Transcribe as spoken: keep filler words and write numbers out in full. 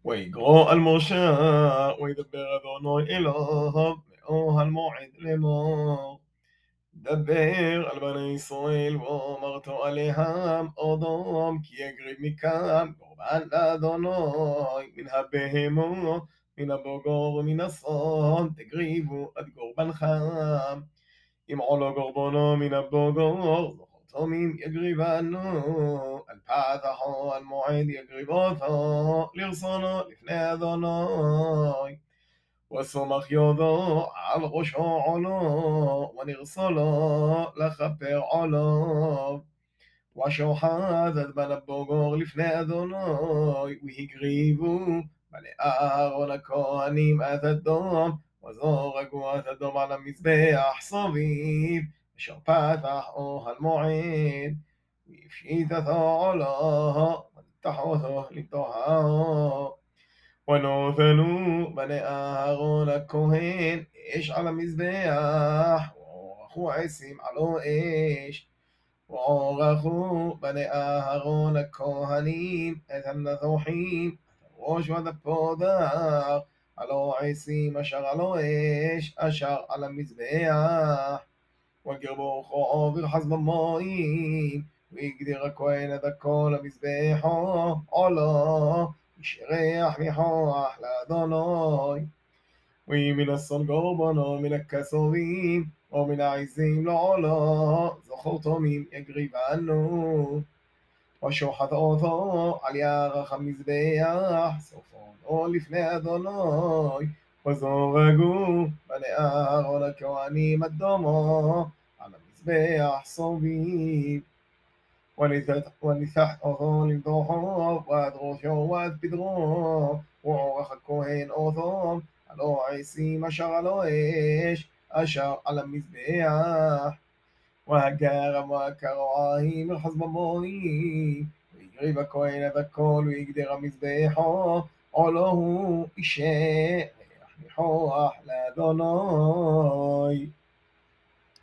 ويقرأ الموشى ويدبر أذني إله מאוהל מועד לאמור. דבר על בני ישראל ואמרת עליהם אדום כי יגריב מכם קורבן לאדוני מן הבהמות מן הבוגר ומן השון תגריבו עד קורבנכם אם עולו קורבנו מן הבוגר זכר תמים יגריבנו על פתח או על מועד יגריב אותו לרצונו לפני אדוני וסומך ידו על ראשו עולו, ונרסו לו לכפר עולו. ושוחט את בן הבוגר לפני אדוני, והקריבו בני אהרון הכהנים את הדום, וזרקו את הדום על המזבח סביב, אשר פתח אוהל מועד, והפשיט אותו עולו, ונתח אותו לטהרו. ונותנו בני אהרון הכהן אש על המזבח, וערכו עשים עלו אש. וערכו בני אהרון הכהנים את הנזוחים, את הראש ואת הפודר, עלו עשים אשר עלו אש, אשר על המזבח. וגרבו כוחו וירחץ במים, והגדיר הכהן את הכל למזבחו עולו. ישרח מכוח לאדוני, ומן השון קורבנו מן הכסורים, ומן העזים לעולו, זכור תמים יגריבנו. ושוחט אותו על ירך המזבח, סופונו לפני אדוני, וזורגו בני אהרון הכהנים אדומו, על המזבח סביב. וניתח אותו למדוחו, ועד ראשו ועד פדרו, ועורך הכהן אותו, הלא עשים אשר הלא אש, אשר על המזבח. והגרם והקרועיים ירחץ במים, והקריב הכהן את הכל, והגדיר המזבחו, עולו הוא ישרח מכוח לאדוני.